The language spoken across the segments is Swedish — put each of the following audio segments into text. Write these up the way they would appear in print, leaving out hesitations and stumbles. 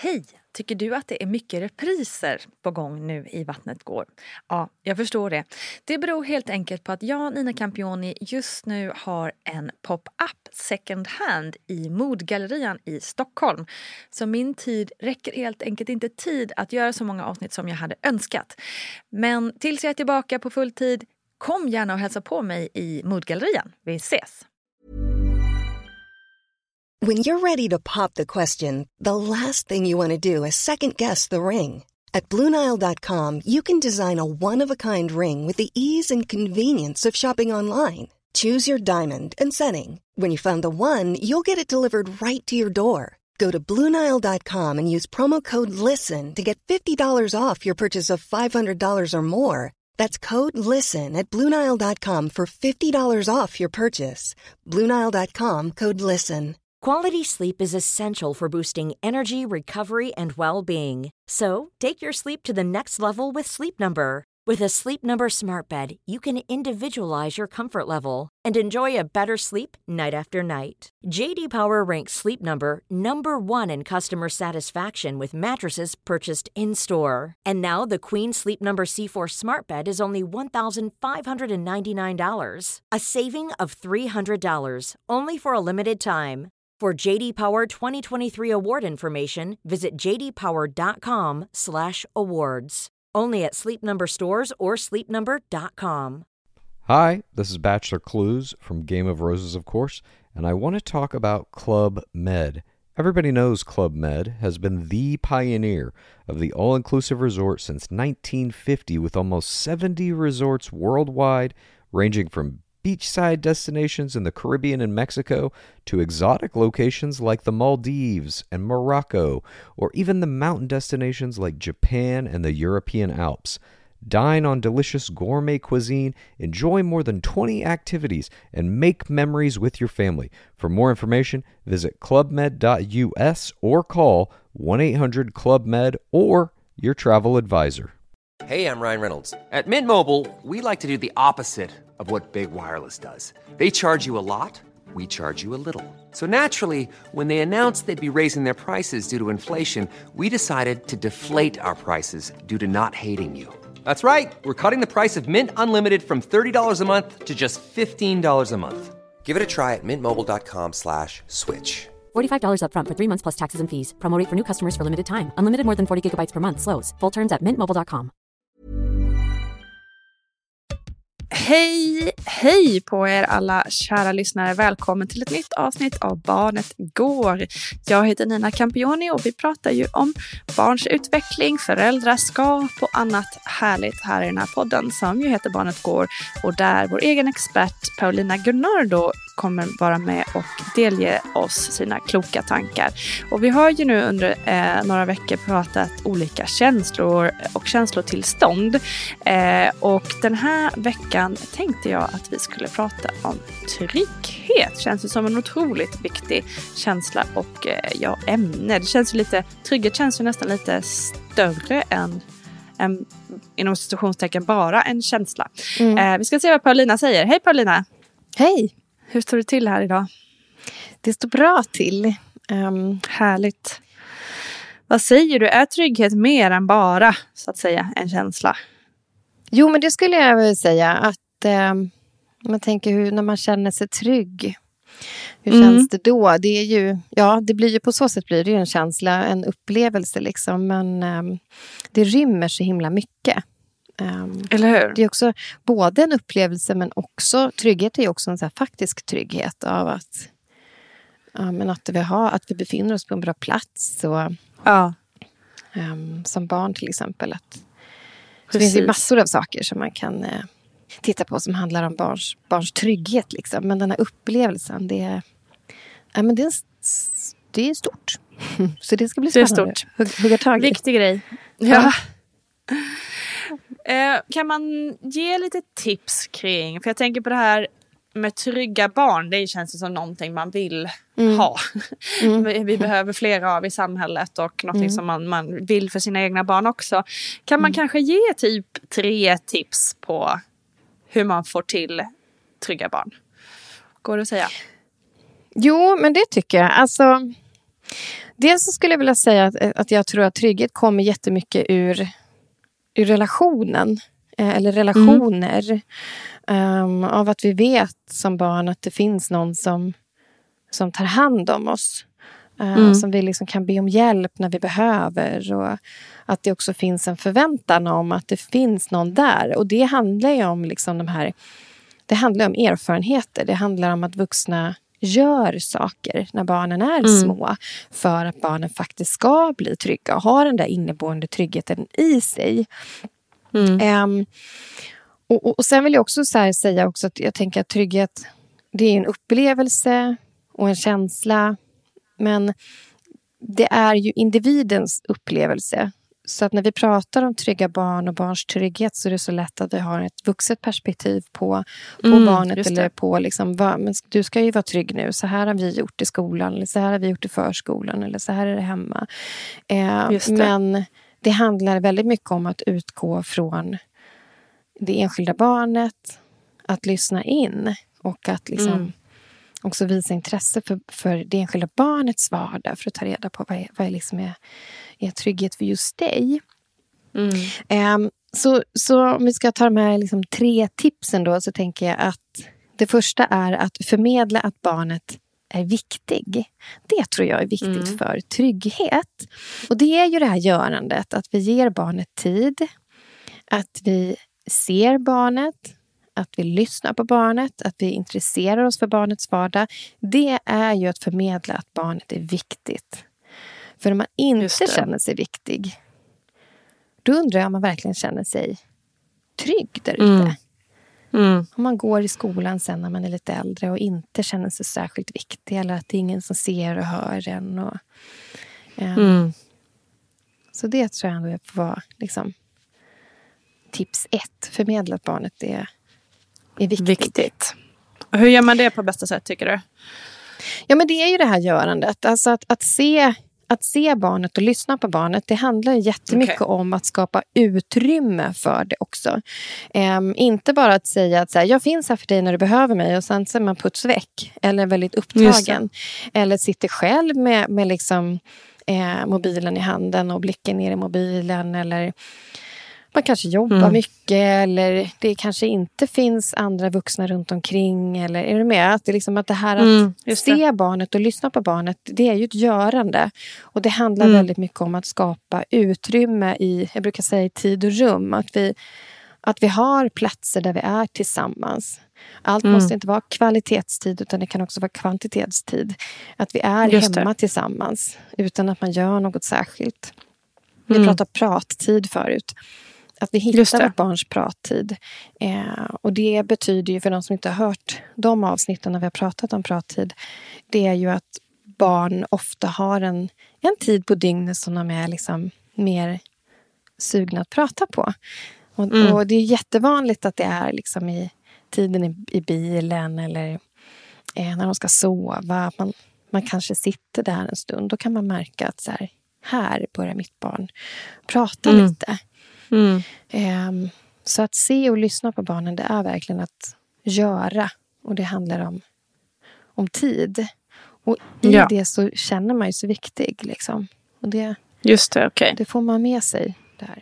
Hej! Tycker du att det är mycket repriser på gång nu i Vattnet går? Ja, jag förstår det. Det beror helt enkelt på att jag, Nina Campioni, just nu har en pop-up second hand i Modgallerian i Stockholm. Så min tid räcker helt enkelt inte tid att göra så många avsnitt som jag hade önskat. Men tills jag är tillbaka på full tid, kom gärna och hälsa på mig i Modgallerian. Vi ses! When you're ready to pop the question, the last thing you want to do is second-guess the ring. At BlueNile.com, you can design a one-of-a-kind ring with the ease and convenience of shopping online. Choose your diamond and setting. When you find the one, you'll get it delivered right to your door. Go to BlueNile.com and use promo code LISTEN to get $50 off your purchase of $500 or more. That's code LISTEN at BlueNile.com for $50 off your purchase. BlueNile.com, code LISTEN. Quality sleep is essential for boosting energy, recovery, and well-being. So, take your sleep to the next level with Sleep Number. With a Sleep Number smart bed, you can individualize your comfort level and enjoy a better sleep night after night. JD Power ranks Sleep Number #1 in customer satisfaction with mattresses purchased in-store. And now the Queen Sleep Number C4 smart bed is only $1,599. A saving of $300, only for a limited time. For JD Power 2023 award information, visit jdpower.com/awards. Only at Sleep Number stores or sleepnumber.com. Hi, this is Bachelor Clues from Game of Roses, of course, and I want to talk about Club Med. Everybody knows Club Med has been the pioneer of the all-inclusive resort since 1950, with almost 70 resorts worldwide, ranging from beachside destinations in the Caribbean and Mexico to exotic locations like the Maldives and Morocco, or even the mountain destinations like Japan and the European Alps. Dine on delicious gourmet cuisine, enjoy more than 20 activities, and make memories with your family. For more information, visit clubmed.us or call 1-800-CLUB-MED or your travel advisor. Hey, I'm Ryan Reynolds. At Mint Mobile, we like to do the opposite of what Big Wireless does. They charge you a lot, we charge you a little. So naturally, when they announced they'd be raising their prices due to inflation, we decided to deflate our prices due to not hating you. That's right. We're cutting the price of Mint Unlimited from $30 a month to just $15 a month. Give it a try at mintmobile.com/switch. $45 up front for 3 months plus taxes and fees. Promo rate for new customers for limited time. Unlimited more than 40 gigabytes per month. Slows full terms at mintmobile.com. Hej på er alla kära lyssnare. Välkommen till ett nytt avsnitt av Barnet går. Jag heter Nina Campioni och vi pratar ju om barns utveckling, föräldraskap och annat härligt här i den här podden som ju heter Barnet går, och där vår egen expert Paulina Gunnardo kommer vara med och delge oss sina kloka tankar. Och vi har ju nu under några veckor pratat olika känslor och känslotillstånd. Och den här veckan tänkte jag att vi skulle prata om trygghet. Känns det som en otroligt viktig känsla och ämne. Det känns ju lite, trygghet känns ju nästan lite större än inom situationstecken bara en känsla. Vi ska se vad Paulina säger. Hej Paulina! Hej! Hur står det till här idag? Det står bra till. Härligt. Vad säger du? Är trygghet mer än bara, så att säga, en känsla? Jo, men det skulle jag väl säga. Att man tänker när man känner sig trygg. Hur känns det då? Det är ju, det blir ju på så sätt blir det ju en känsla, en upplevelse liksom. Men det rymmer så himla mycket. Eller hur? Det är också både en upplevelse, men också trygghet är ju också en så här faktisk trygghet av att att vi befinner oss på en bra plats och som barn till exempel det finns ju massor av saker som man kan titta på som handlar om barns trygghet liksom, men den här upplevelsen det är stort. Så det ska bli spännande. Det är stort. Hugga tag i. Viktig grej. Ja. Kan man ge lite tips kring, för jag tänker på det här med trygga barn, det känns som någonting man vill ha. Vi behöver flera av i samhället och någonting som man vill för sina egna barn också. Kan man kanske ge typ 3 tips på hur man får till trygga barn? Går det att säga? Jo, men det tycker jag. Alltså, Dels så skulle jag vilja säga att jag tror att trygghet kommer jättemycket ur relationen. Eller relationer. Av att vi vet som barn att det finns någon som tar hand om oss. Som vi liksom kan be om hjälp när vi behöver. Och att det också finns en förväntan om att det finns någon där. Och det handlar ju om liksom det handlar om erfarenheter. Det handlar om att vuxna gör saker när barnen är små. För att barnen faktiskt ska bli trygga. Och ha den där inneboende tryggheten i sig. Och sen vill jag också säga också att jag tänker att trygghet, det är en upplevelse och en känsla. Men det är ju individens upplevelse. Så att när vi pratar om trygga barn och barns trygghet så är det så lätt att vi har ett vuxet perspektiv på barnet. Eller på liksom, men du ska ju vara trygg nu. Så här har vi gjort i skolan. Eller så här har vi gjort i förskolan. Eller så här är det hemma. Men det handlar väldigt mycket om att utgå från det enskilda barnet. Att lyssna in. Och att liksom också visa intresse för det enskilda barnets vardag. För att ta reda på vad liksom är trygghet för just dig. Så om vi ska ta de här liksom 3 tipsen då. Så tänker jag att det första är att förmedla att barnet är viktig. Det tror jag är viktigt för trygghet. Och det är ju det här görandet. Att vi ger barnet tid. Att vi ser barnet. Att vi lyssnar på barnet. Att vi intresserar oss för barnets vardag. Det är ju att förmedla att barnet är viktigt. För om man inte känner sig viktig. Då undrar jag om man verkligen känner sig trygg där ute. Om man går i skolan sen när man är lite äldre. Och inte känner sig särskilt viktig. Eller att det är ingen som ser och hör en. Och, så det tror jag ändå får vara liksom, tips 1. Förmedla att barnet är viktigt. Och hur gör man det på bästa sätt tycker du? Ja, men det är ju det här görandet. Alltså att se barnet och lyssna på barnet. Det handlar jättemycket om att skapa utrymme för det också. Inte bara att säga att så här, jag finns här för dig när du behöver mig. Och sen så är man putsväck. Eller väldigt upptagen. Eller sitter själv med liksom, mobilen i handen. Och blicken ner i mobilen. Eller man kanske jobbar mycket. Eller det kanske inte finns andra vuxna runt omkring. Eller är du med? Att det, liksom, att det här att se barnet och lyssna på barnet. Det är ju ett görande. Och det handlar väldigt mycket om att skapa utrymme i, jag brukar säga, tid och rum. Att vi har platser där vi är tillsammans. Allt måste inte vara kvalitetstid utan det kan också vara kvantitetstid. Att vi är hemma tillsammans utan att man gör något särskilt. Vi pratade prattid förut. Att vi hittar vårt barns prattid. Och det betyder ju för de som inte har hört de avsnitten när vi har pratat om prattid. Det är ju att barn ofta har en tid på dygnet som de är liksom mer sugna att prata på. Och det är jättevanligt att det är liksom i tiden i bilen eller när de ska sova. Man kanske sitter där en stund. Då kan man märka att så här börjar mitt barn prata lite. Så att se och lyssna på barnen, det är verkligen att göra. Och det handlar om tid. Och i det så känner man ju så viktig. Liksom. Och det får man med sig där.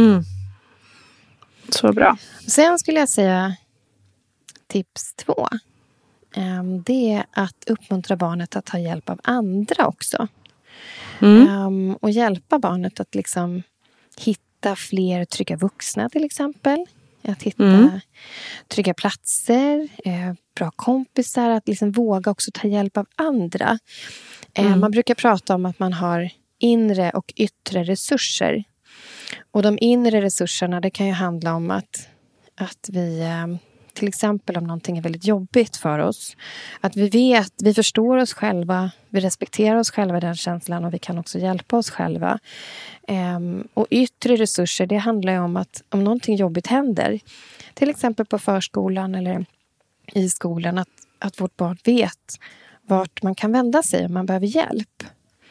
Så bra. Sen skulle jag säga tips 2. Det är att uppmuntra barnet att ta hjälp av andra också. Och hjälpa barnet att liksom hitta fler trygga vuxna till exempel. Att hitta trygga platser, bra kompisar. Att liksom våga också ta hjälp av andra. Man brukar prata om att man har inre och yttre resurser. Och de inre resurserna, det kan ju handla om att vi, till exempel om någonting är väldigt jobbigt för oss. Att vi förstår oss själva, vi respekterar oss själva i den känslan och vi kan också hjälpa oss själva. Och yttre resurser, det handlar ju om att om någonting jobbigt händer, till exempel på förskolan eller i skolan, att vårt barn vet vart man kan vända sig om man behöver hjälp.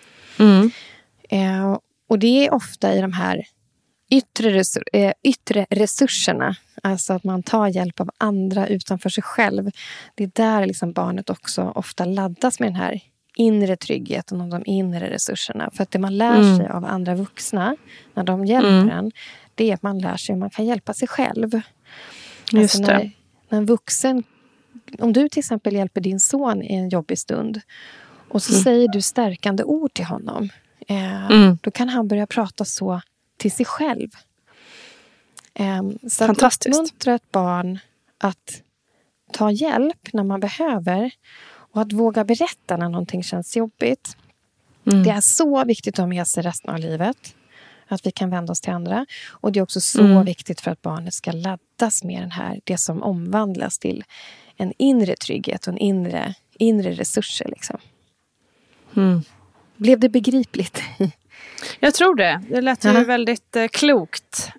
Och det är ofta i de här yttre resurserna. Alltså att man tar hjälp av andra utanför sig själv. Det är där liksom barnet också ofta laddas med den här inre tryggheten och de inre resurserna. För att det man lär sig av andra vuxna när de hjälper en, det är att man lär sig hur man kan hjälpa sig själv. Just alltså när en vuxen, om du till exempel hjälper din son i en jobbig stund och så säger du stärkande ord till honom, då kan han börja prata så till sig själv. Så att uppmuntra ett barn att ta hjälp när man behöver och att våga berätta när någonting känns jobbigt. Det är så viktigt att ha med sig resten av livet. Att vi kan vända oss till andra. Och det är också så viktigt för att barnet ska laddas med det som omvandlas till en inre trygghet och en inre resurser. Liksom. Blev det begripligt? Jag tror det. Det lät ju väldigt klokt.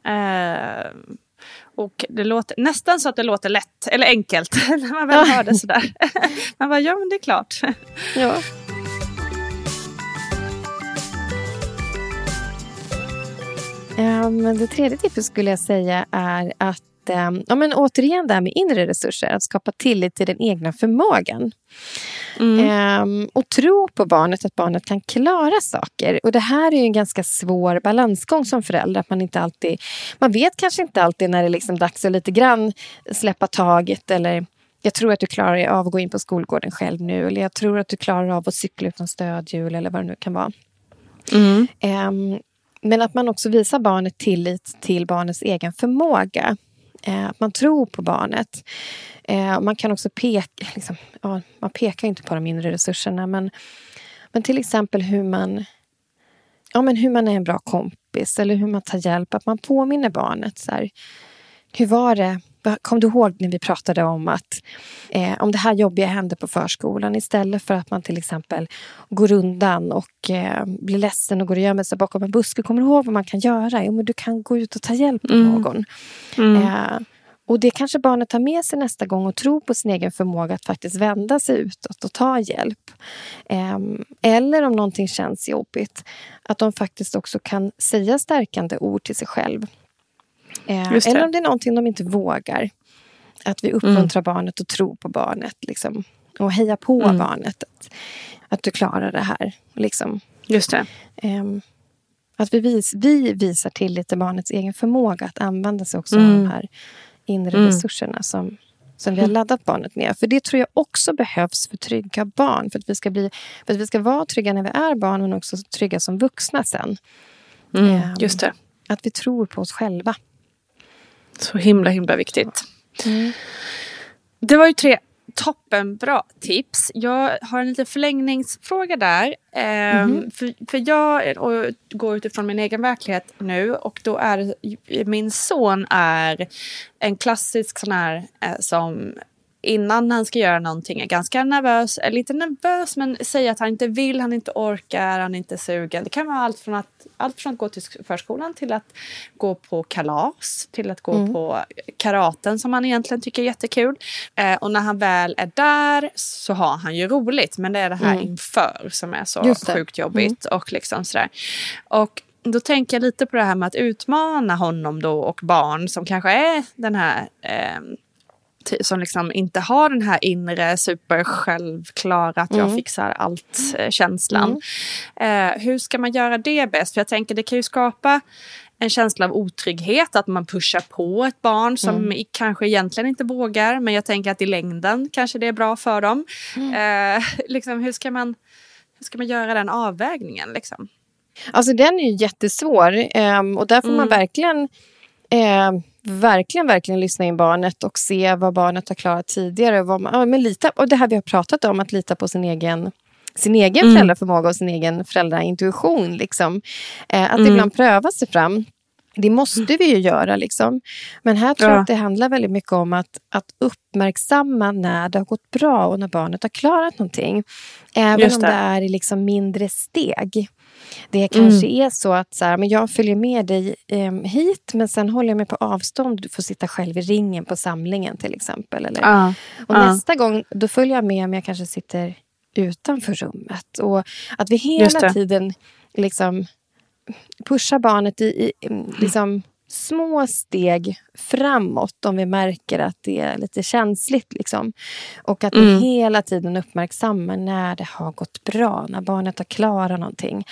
Och det låter nästan så att det låter lätt eller enkelt när man väl hör det sådär. Man bara, ja men det är klart. Ja. Men det tredje tipset skulle jag säga är att återigen det här med inre resurser, att skapa tillit till den egna förmågan. Och tro på barnet, att barnet kan klara saker. Och det här är ju en ganska svår balansgång som förälder, att man vet kanske inte alltid när det är liksom dags att lite grann släppa taget, eller jag tror att du klarar av att gå in på skolgården själv nu, eller jag tror att du klarar av att cykla utan stödhjul, eller vad det nu kan vara. Men att man också visar barnet tillit till barnets egen förmåga. Att man tror på barnet. Man kan också peka, man pekar inte på de inre resurserna, men till exempel hur man är en bra kompis eller hur man tar hjälp, att man påminner barnet så här, hur var det? Kom du ihåg när vi pratade om att om det här jobbiga hände på förskolan, istället för att man till exempel går undan och blir ledsen och går och gömmer sig bakom en buske, kommer du ihåg vad man kan göra? Jo, men du kan gå ut och ta hjälp av någon. Och det kanske barnet tar med sig nästa gång och tror på sin egen förmåga att faktiskt vända sig utåt och ta hjälp. Eller om någonting känns jobbigt, att de faktiskt också kan säga stärkande ord till sig själv. Eller om det är någonting de inte vågar. Att vi uppmuntrar barnet och tror på barnet. Liksom, och heja på barnet. Att du klarar det här. Liksom. Just det. Att vi visar tillit till barnets egen förmåga. Att använda sig också av de här inre resurserna som vi har laddat barnet med. För det tror jag också behövs för trygga barn. För att vi ska vara trygga när vi är barn, men också trygga som vuxna sen. Just det. Att vi tror på oss själva. Så himla viktigt. Det var ju 3 toppenbra tips. Jag har en liten förlängningsfråga där. För jag går utifrån min egen verklighet nu, och då är min son är en klassisk sån här som innan han ska göra någonting är ganska nervös, eller inte nervös, men säger att han inte vill, han inte orkar, han inte är sugen. Det kan vara allt från att gå till förskolan till att gå på kalas, till att gå på karaten som han egentligen tycker är jättekul. Och när han väl är där så har han ju roligt, men det är det här inför som är så sjukt jobbigt och liksom sådär. Och då tänker jag lite på det här med att utmana honom då, och barn som kanske är den här som liksom inte har den här inre supersjälvklara att jag fixar allt känslan. Hur ska man göra det bäst? För jag tänker det kan ju skapa en känsla av otrygghet, att man pushar på ett barn som kanske egentligen inte vågar, men jag tänker att i längden kanske det är bra för dem. Liksom, hur ska man göra den avvägningen liksom? Alltså den är ju jättesvår, och där får man verkligen lyssna in barnet och se vad barnet har klarat tidigare. Och det här vi har pratat om, att lita på sin egen föräldraförmåga och sin egen föräldraintuition. Liksom. Att ibland pröva sig fram. Det måste vi ju göra. Liksom. Men här tror jag att det handlar väldigt mycket om att uppmärksamma när det har gått bra och när barnet har klarat någonting. Även om det är i liksom mindre steg. Det kanske är så att men jag följer med dig hit, men sen håller jag mig på avstånd. Du får sitta själv i ringen på samlingen till exempel. Eller? Och nästa gång då följer jag med, men jag kanske sitter utanför rummet. Och att vi hela tiden liksom pushar barnet liksom små steg framåt om vi märker att det är lite känsligt. Liksom. Och att vi hela tiden uppmärksammar när det har gått bra. När barnet har klarat någonting.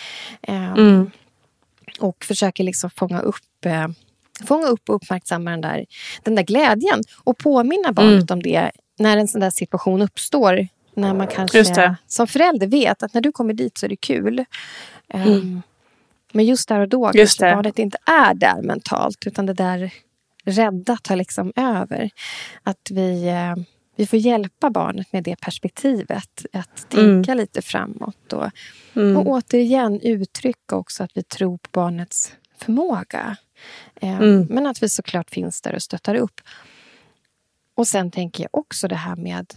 Och försöker liksom fånga upp och uppmärksamma den där glädjen. Och påminna barnet om det när en sån där situation uppstår. När man kanske som förälder vet att när du kommer dit så är det kul. Men just där och då kanske barnet inte är där mentalt. Utan det där rädda tar liksom över. Att vi får hjälpa barnet med det perspektivet. Att tänka lite framåt. Och återigen uttrycka också att vi tror på barnets förmåga. Men att vi såklart finns där och stöttar upp. Och sen tänker jag också det här med...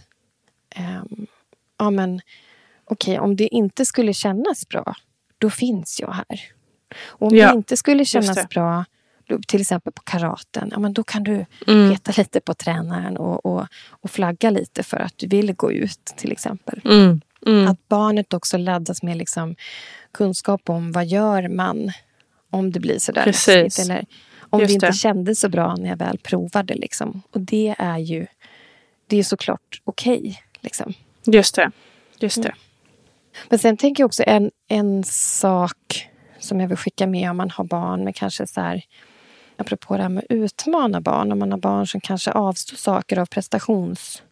Okej, om det inte skulle kännas bra, då finns jag här. Och om det inte skulle kännas bra, till exempel på karaten, då kan du peta lite på tränaren och flagga lite för att du vill gå ut, till exempel. Att barnet också laddas med liksom kunskap om vad gör man om det blir sådär läskigt, eller om det inte kändes så bra när jag väl provade. Liksom. Och det är såklart okej. Liksom. Just det. Men sen tänker jag också en sak som jag vill skicka med om man har barn med kanske så här, apropå det här med utmana barn, om man har barn som kanske avstår saker av prestationsångest,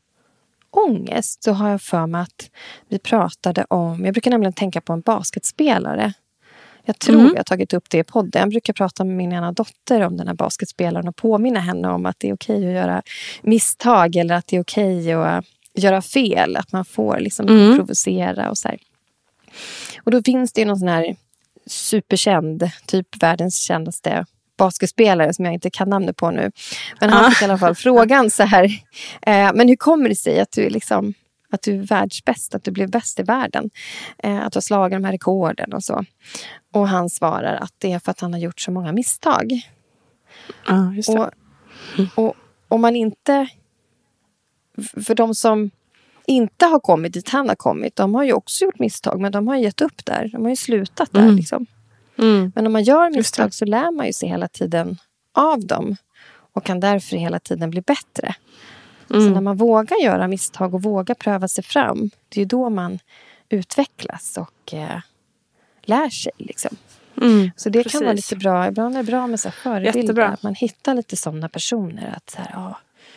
så har jag för mig att vi pratade om, jag brukar nämligen tänka på en basketspelare. Jag tror jag har tagit upp det i podden. Jag brukar prata med min ena dotter om den här basketspelaren och påminna henne om att det är okej att göra misstag, eller att det är okej att göra fel, att man får liksom provocera och så här. Och då finns det ju någon sån här superkänd, typ världens kändaste basketspelare som jag inte kan namnet på nu. Men han fick i alla fall frågan så här, men hur kommer det sig att du är liksom, att du är världsbäst, att du blev bäst i världen, att du har slagit de här rekorden och så. Och han svarar att det är för att han har gjort så många misstag. Just det. Och om man inte, för de som inte har kommit dit han har kommit, de har ju också gjort misstag, men de har gett upp där, de har ju slutat där liksom. Men om man gör misstag så lär man ju sig hela tiden av dem och kan därför hela tiden bli bättre. Så när man vågar göra misstag och vågar pröva sig fram, det är ju då man utvecklas och lär sig liksom. Så det kan vara lite bra. Ibland är det bra med så här förebilder, att man hittar lite sådana personer, att så här,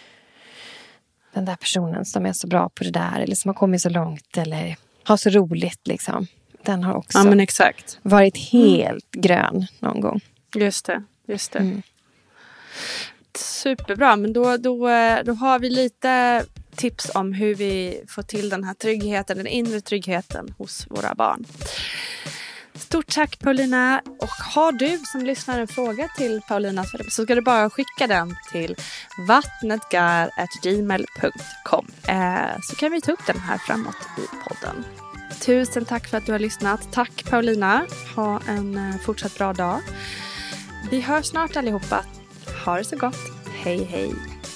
den där personen som är så bra på det där, eller som har kommit så långt, eller har så roligt liksom. Den har också varit helt grön någon gång. Just det. Superbra, men då har vi lite tips om hur vi får till den här tryggheten, den inre tryggheten hos våra barn. Stort tack Paulina, och har du som lyssnar en fråga till Paulina så ska du bara skicka den till vattnetgar@gmail.com, så kan vi ta upp den här framåt i podden. Tusen tack för att du har lyssnat. Tack Paulina, ha en fortsatt bra dag. Vi hörs snart allihopa. Ha det så gott. Hej hej.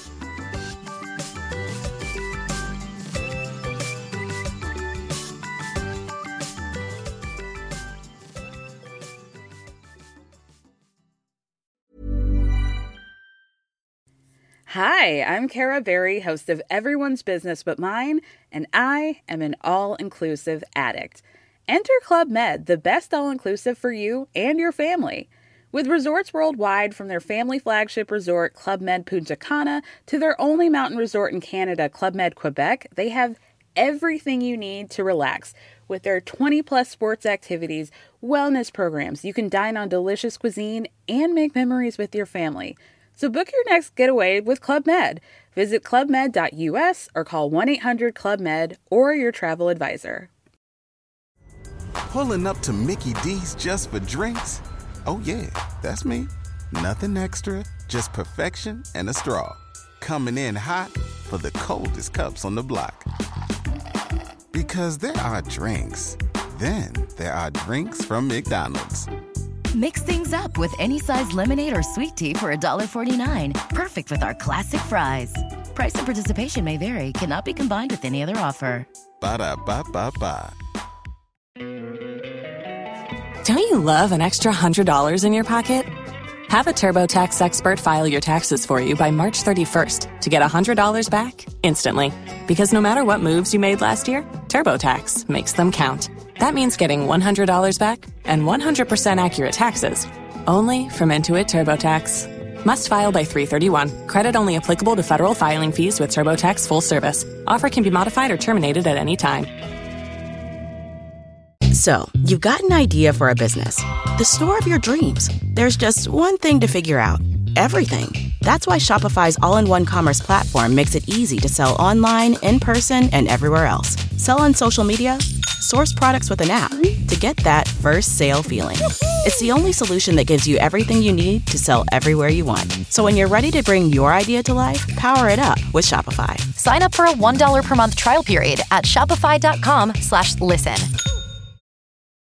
Hi, I'm Cara Berry, host of Everyone's Business But Mine, and I am an all-inclusive addict. Enter Club Med, the best all-inclusive for you and your family. With resorts worldwide, from their family flagship resort, Club Med Punta Cana, to their only mountain resort in Canada, Club Med Quebec, they have everything you need to relax. With their 20-plus sports activities, wellness programs, you can dine on delicious cuisine and make memories with your family. So book your next getaway with Club Med. Visit clubmed.us or call 1-800-CLUB-MED or your travel advisor. Pulling up to Mickey D's just for drinks? Oh yeah, that's me. Nothing extra, just perfection and a straw. Coming in hot for the coldest cups on the block. Because there are drinks. Then there are drinks from McDonald's. Mix things up with any size lemonade or sweet tea for $1.49. Perfect with our classic fries. Price and participation may vary. Cannot be combined with any other offer. Ba-da-ba-ba-ba. Don't you love an extra $100 in your pocket? Have a TurboTax expert file your taxes for you by March 31st to get $100 back instantly. Because no matter what moves you made last year, TurboTax makes them count. That means getting $100 back and 100% accurate taxes, only from Intuit TurboTax. Must file by 3/31. Credit only applicable to federal filing fees with TurboTax full service. Offer can be modified or terminated at any time. So, you've got an idea for a business. The store of your dreams. There's just one thing to figure out. Everything. That's why Shopify's all-in-one commerce platform makes it easy to sell online, in person, and everywhere else. Sell on social media, source products with an app to get that first sale feeling. It's the only solution that gives you everything you need to sell everywhere you want. So when you're ready to bring your idea to life, power it up with Shopify. Sign up for a $1 per month trial period at shopify.com/listen.